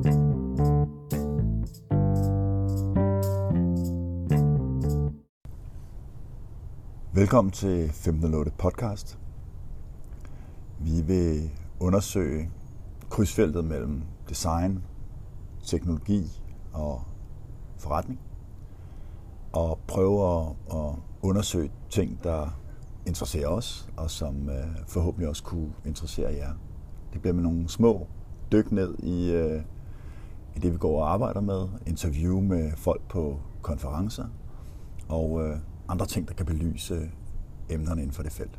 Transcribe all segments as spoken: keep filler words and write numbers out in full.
Velkommen til femten nul otte podcast. Vi vil undersøge krydsfeltet mellem design, teknologi og forretning. Og prøve at, at undersøge ting, der interesserer os, og som forhåbentlig også kunne interessere jer. Det bliver med nogle små dyk ned i, i det, vi går og arbejder med. Interview med folk på konferencer og andre ting, der kan belyse emnerne inden for det felt.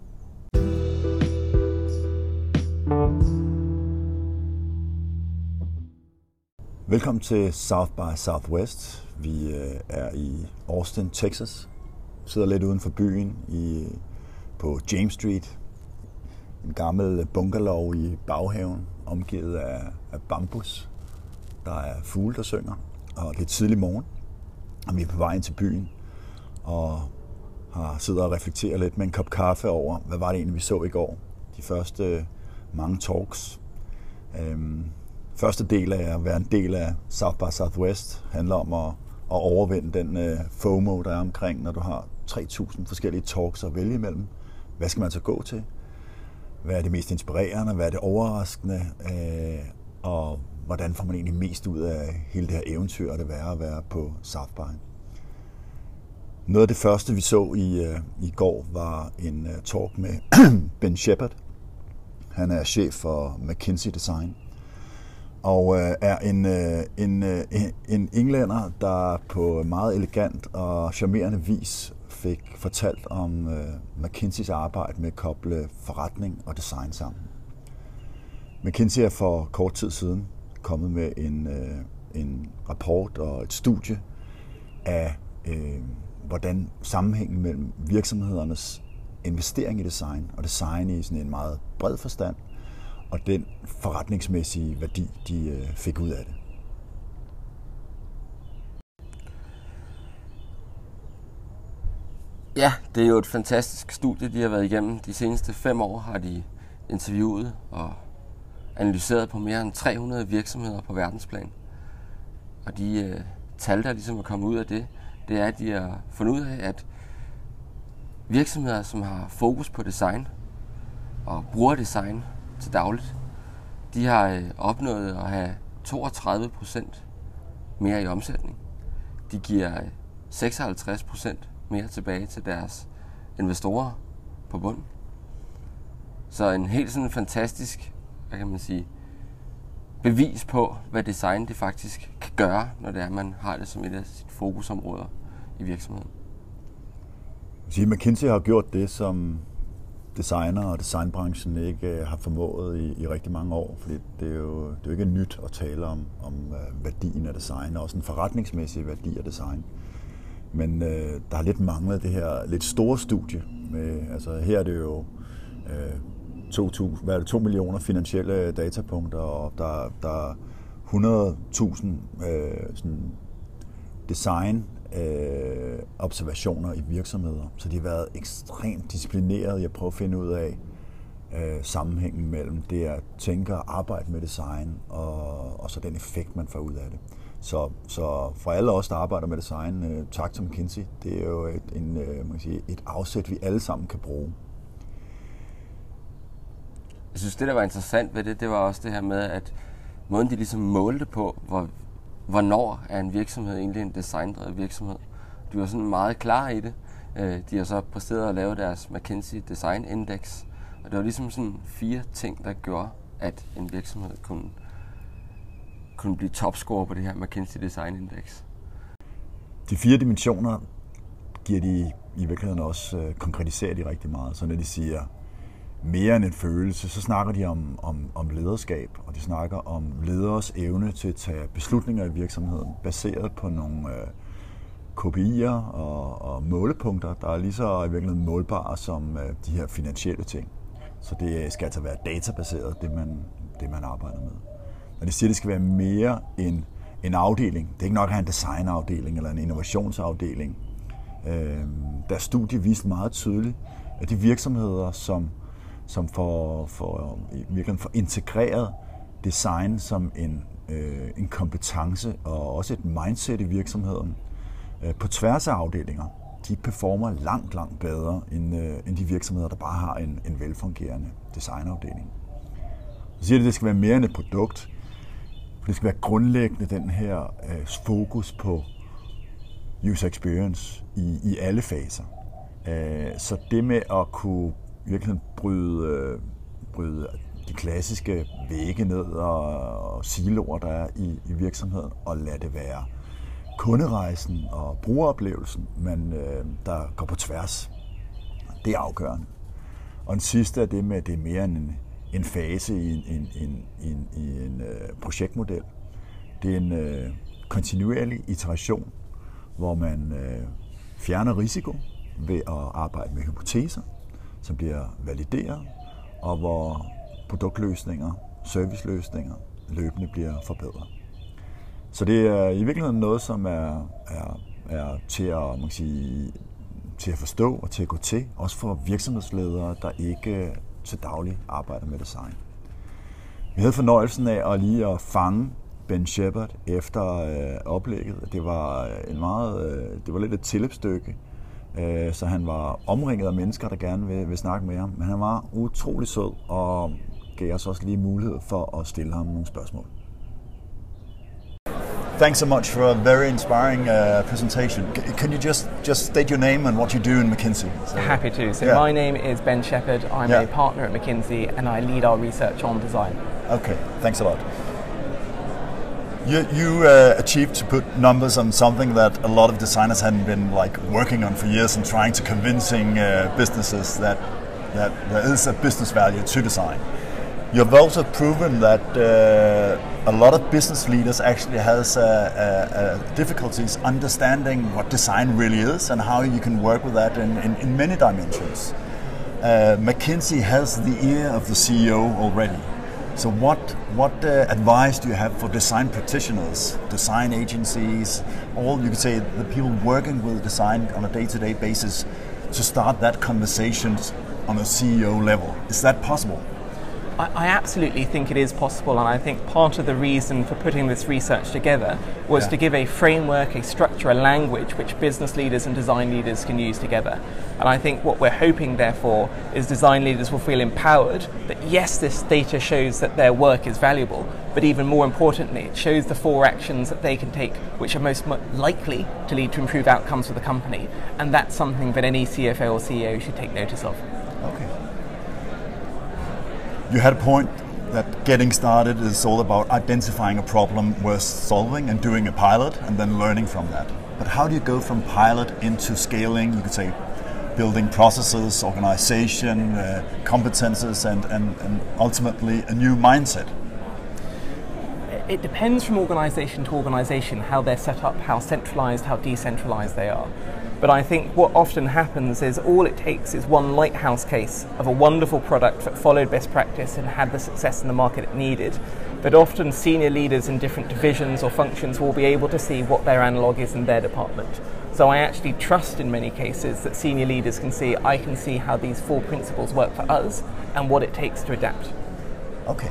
Velkommen til South by Southwest. Vi er i Austin, Texas. Vi sidder lidt uden for byen i, på James Street. En gammel bungalow i baghaven, omgivet af, af bambus. Der er fugle, der synger, og det er tidlig morgen, og vi er på vej ind til byen. Og har siddet og reflekteret lidt med en kop kaffe over, hvad var det egentlig, vi så i går. De første mange talks. Øhm, første del af at være en del af South by Southwest handler om at, at overvinde den øh, FOMO, der er omkring, når du har tre tusind forskellige talks at vælge imellem. Hvad skal man så gå til? Hvad er det mest inspirerende? Hvad er det overraskende? Øh, og hvordan får man egentlig mest ud af hele det her eventyr, det er at være på South by? Noget af det første, vi så i, uh, i går, var en uh, talk med Ben Shepard. Han er chef for McKinsey Design, og uh, er en, uh, en, uh, en englænder, der på meget elegant og charmerende vis fik fortalt om uh, McKinseys arbejde med at koble forretning og design sammen. McKinsey er for kort tid siden kommet med en, uh, en rapport og et studie af uh, hvordan sammenhængen mellem virksomhedernes investering i design og design i sådan en meget bred forstand, og den forretningsmæssige værdi, de fik ud af det. Ja, det er jo et fantastisk studie, de har været igennem. De seneste fem år har de interviewet og analyseret på mere end tre hundrede virksomheder på verdensplan. Og de øh, tal, der ligesom er kommet ud af det, det er, at de har fundet ud af, at virksomheder, som har fokus på design og bruger design til dagligt, de har opnået at have toogtredive procent mere i omsætning. De giver seksoghalvtreds procent mere tilbage til deres investorer på bunden. Så en helt sådan fantastisk, hvad kan man sige, bevis på, hvad design det faktisk kan gøre, når det er, man har det som et af sine fokusområder i virksomheden. McKinsey har gjort det, som designer og designbranchen ikke har formået i, i rigtig mange år, fordi det er jo, det er jo ikke nyt at tale om, om værdien af design, og også en forretningsmæssig værdi af design. Men øh, der har lidt manglet det her lidt store studie. Med, altså her er det jo øh, to, hvad er det, to millioner finansielle datapunkter, og der, der er hundrede tusind øh, sådan design øh, observationer i virksomheder. Så de har været ekstremt disciplineret i at prøve at finde ud af øh, sammenhængen mellem det at tænke og arbejde med design, og, og så den effekt, man får ud af det. Så, så for alle os, der arbejder med design, øh, tak til McKinsey. Det er jo et, en, øh, man kan sige, et afsæt, vi alle sammen kan bruge. Jeg synes, det der var interessant ved det, det var også det her med, at måden de ligesom målte på, hvor, hvornår er en virksomhed egentlig en designdrevet virksomhed. De var sådan meget klar i det. De har så præsteret at lave deres McKinsey Design Index, og det var ligesom sådan fire ting, der gjorde, at en virksomhed kunne, kunne blive topscorer på det her McKinsey Design Index. De fire dimensioner giver de i virkeligheden også øh, konkretiserer de rigtig meget, så når de siger mere end en følelse, så snakker de om, om, om lederskab, og de snakker om leders evne til at tage beslutninger i virksomheden, baseret på nogle øh, K P I'er og, og målepunkter, der er lige så i virkeligheden målbare som øh, de her finansielle ting. Så det skal altså være databaseret, det man, det man arbejder med. Når de siger, at det skal være mere end en afdeling, det er ikke nok at have en designafdeling eller en innovationsafdeling. Øh, der studie viste meget tydeligt, at de virksomheder, som som får, får, virkelig får integreret design som en øh, en kompetence og også et mindset i virksomheden øh, på tværs af afdelinger. De performer langt, langt bedre end, øh, end de virksomheder, der bare har en, en velfungerende designafdeling. Så siger det, at det skal være mere end et produkt. Det skal være grundlæggende den her øh, fokus på user experience i, i alle faser. Øh, så det med at kunne virkelig bryde, øh, bryde de klassiske vægge ned og, og siloer, der er i, i virksomheden, og lade det være kunderejsen og brugeroplevelsen, men øh, der går på tværs. Det er afgørende. Og den sidste er det med, at det er mere en, en fase i en, en, en, en, i en øh, projektmodel. Det er en øh, kontinuerlig iteration, hvor man øh, fjerner risiko ved at arbejde med hypoteser, som bliver valideret, og hvor produktløsninger, serviceløsninger løbende bliver forbedret. Så det er i virkeligheden noget, som er, er, er til, at, man kan sige, til at forstå og til at gå til, også for virksomhedsledere, der ikke til daglig arbejder med design. Vi havde fornøjelsen af at lige at fange Ben Shepard efter øh, oplægget. Det var en meget, øh, det var lidt et tilløbsstykke, øh, så han var omringet af mennesker, der gerne vil, vil snakke med ham. Men han var utrolig sød og gav os også lige mulighed for at stille ham nogle spørgsmål. Thanks so much for a very inspiring uh, presentation. Can you just just state your name and what you do in McKinsey? So, Happy to. So yeah. My name is Ben Shepard. I'm yeah. a partner at McKinsey and I lead our research on design. Okay, thanks a lot. You, you uh, achieved to put numbers on something that a lot of designers hadn't been like working on for years and trying to convincing uh, businesses that that there is a business value to design. You've also proven that uh, a lot of business leaders actually has uh, uh, uh, difficulties understanding what design really is and how you can work with that in, in, in many dimensions. Uh, McKinsey has the ear of the C E O already. So what, what uh, advice do you have for design practitioners, design agencies, all you could say the people working with design on a day-to-day basis to start that conversation on a C E O level? Is that possible? I absolutely think it is possible, and I think part of the reason for putting this research together was yeah. to give a framework, a structure, a language which business leaders and design leaders can use together. And I think what we're hoping, therefore, is design leaders will feel empowered that yes, this data shows that their work is valuable, but even more importantly, it shows the four actions that they can take which are most likely to lead to improved outcomes for the company. And that's something that any C F O or C E O should take notice of. Okay. You had a point that getting started is all about identifying a problem worth solving and doing a pilot and then learning from that. But how do you go from pilot into scaling, you could say, building processes, organization, uh, competences, and, and, and ultimately a new mindset? It depends from organization to organization how they're set up, how centralized, how decentralized they are. But I think what often happens is all it takes is one lighthouse case of a wonderful product that followed best practice and had the success in the market it needed. But often senior leaders in different divisions or functions will be able to see what their analog is in their department. So I actually trust in many cases that senior leaders can see, I can see how these four principles work for us and what it takes to adapt. Okay.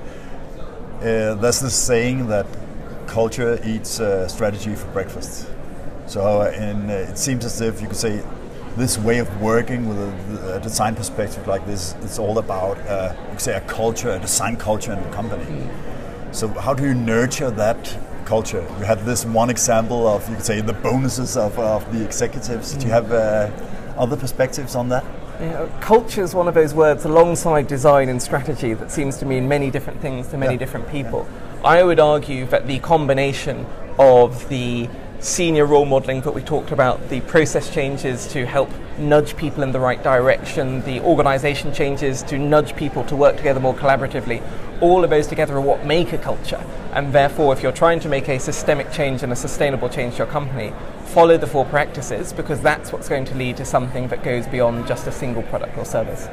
Uh, there's this saying that culture eats uh, strategy for breakfast. So uh, in, uh, it seems as if you could say this way of working with a, a design perspective like this, it's all about uh, you could say a culture, a design culture in the company. Mm. So how do you nurture that culture? You had this one example of, you could say, the bonuses of, of the executives. Mm. Do you have uh, other perspectives on that? You know, culture is one of those words alongside design and strategy that seems to mean many different things to many yeah. different people. Yeah. I would argue that the combination of the senior role modelling that we talked about, the process changes to help nudge people in the right direction, the organisation changes to nudge people to work together more collaboratively, all of those together are what make a culture. And therefore, if you're trying to make a systemic change and a sustainable change to your company, follow the four practices, because that's what's going to lead to something that goes beyond just a single product or service.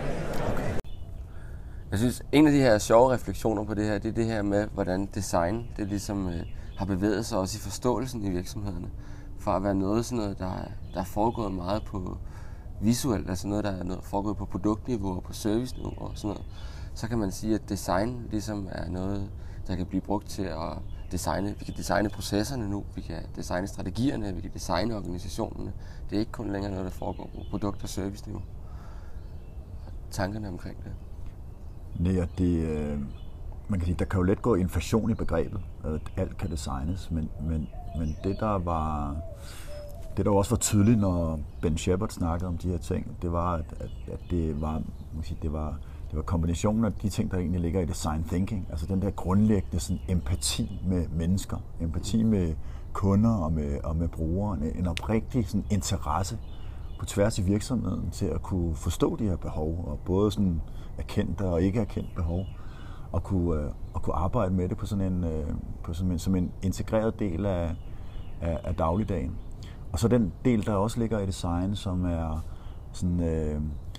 Jeg synes, en af de her sjove refleksioner på det her, det er det her med, hvordan design, det ligesom øh, har bevæget sig også i forståelsen i virksomhederne. Fra at være noget, sådan noget, der, der er foregået meget på visuelt, altså noget, der er noget, foregået på produktniveau og på serviceniveau og sådan noget, så kan man sige, at design ligesom er noget, der kan blive brugt til at designe, vi kan designe processerne nu, vi kan designe strategierne, vi kan designe organisationerne. Det er ikke kun længere noget, der foregår på produkt- og service-niveau. Tankerne omkring det. Nej, og det, øh, man kan sige, der kan jo let gå inflation i begrebet, at alt kan designes, men, men, men det der var, det der også var tydeligt, når Ben Shepard snakkede om de her ting, det var, at, at, at det var, man kan sige, det var Det var kombinationen af de ting, der egentlig ligger i design thinking, altså den der grundlæggende sådan, empati med mennesker, empati med kunder og med, og med brugere, en oprigtig sådan, interesse på tværs i virksomheden til at kunne forstå de her behov, og både sådan erkendte og ikke erkendte behov, og kunne, øh, og kunne arbejde med det på sådan en, øh, på sådan en, som en integreret del af, af, af dagligdagen. Og så den del, der også ligger i design, som er sådan... Øh,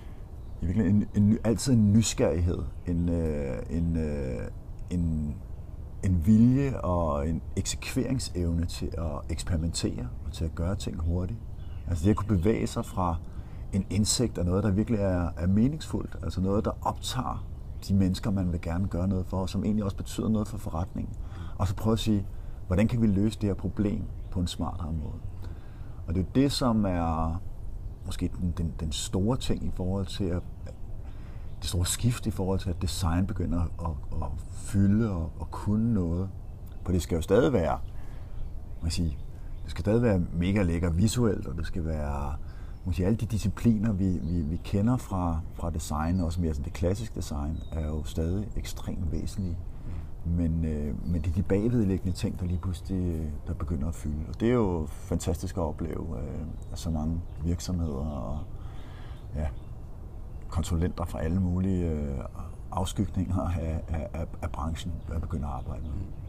I virkeligheden en, en, altid en nysgerrighed, en, øh, en, øh, en, en vilje og en eksekveringsevne til at eksperimentere og til at gøre ting hurtigt. Altså det at kunne bevæge sig fra en indsigt af noget, der virkelig er, er meningsfuldt, altså noget, der optager de mennesker, man vil gerne gøre noget for, og som egentlig også betyder noget for forretningen. Og så prøve at sige, hvordan kan vi løse det her problem på en smartere måde. Og det er det, som er måske den, den, den store ting i forhold til at, det store skift i forhold til, at design begynder at, at fylde og at kunne noget. For det skal jo stadig være, man sige, det skal stadig være mega lækker visuelt, og det skal være, man sige, alle de discipliner, vi, vi, vi kender fra, fra design, også mere sådan det klassiske design, er jo stadig ekstremt væsentlige. Men, øh, men det er de bagvedliggende ting, der lige pludselig der begynder at fylde. Og det er jo fantastisk at opleve, øh, at så mange virksomheder og ja, konsulenter fra alle mulige øh, afskygninger af, af, af, af branchen, der begynder at arbejde med.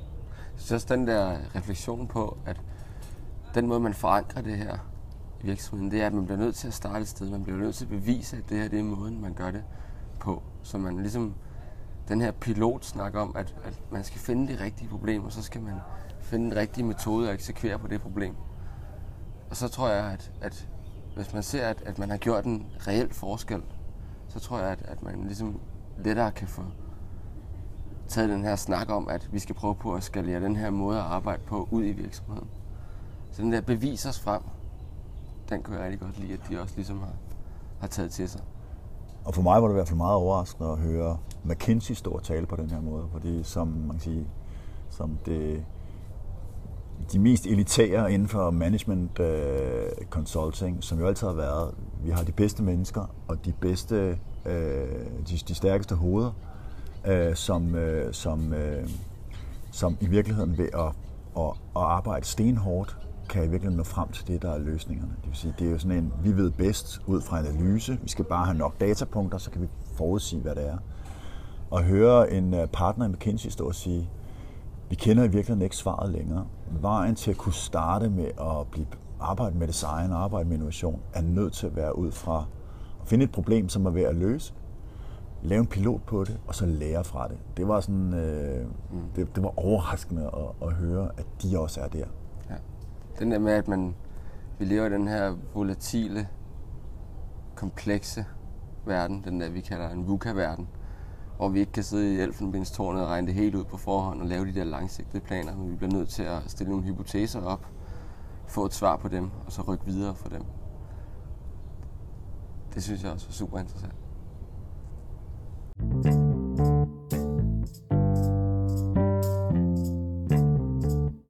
Så også den der refleksion på, at den måde, man forankrer det her i virksomheden, det er, at man bliver nødt til at starte et sted. Man bliver nødt til at bevise, at det her det er måden, man gør det på. Så man ligesom den her pilot snakker om, at, at man skal finde de rigtige problemer, og så skal man finde den rigtige metode at eksekvere på det problem. Og så tror jeg, at, at hvis man ser, at, at man har gjort en reel forskel, så tror jeg, at, at man ligesom lettere kan få taget den her snak om, at vi skal prøve på at skalere den her måde at arbejde på ud i virksomheden. Så den der bevis os frem, den kunne jeg rigtig godt lide, at de også ligesom har, har taget til sig. Og for mig var det i hvert fald meget overraskende at høre McKinsey stå og tale på den her måde, fordi som man kan sige, som det, de mest elitære inden for management uh, consulting, som jo altid har været, vi har de bedste mennesker og de bedste, uh, de, de stærkeste hoveder, uh, som, uh, som, uh, som i virkeligheden ved at, at, at arbejde stenhårdt, kan i virkeligheden nå frem til det, der er løsningerne. Det vil sige, det er jo sådan en, vi ved bedst ud fra analyse. Vi skal bare have nok datapunkter, så kan vi forudsige, hvad det er. Og høre en partner i McKinsey stå og sige, vi kender i virkeligheden ikke svaret længere. Vejen til at kunne starte med at blive, arbejde med design og arbejde med innovation, er nødt til at være ud fra at finde et problem, som er ved at løse, lave en pilot på det, og så lære fra det. Det var sådan, øh, mm. det, det var overraskende at, at høre, at de også er der. Ja. Den der med, at man, vi lever i den her volatile, komplekse verden, den der vi kalder en VUCA-verden, hvor vi ikke kan sidde i elfenbenstårnet og regne det helt ud på forhånd og lave de der langsigtede planer, men vi bliver nødt til at stille nogle hypoteser op, få et svar på dem, og så rykke videre for dem. Det synes jeg også er super interessant.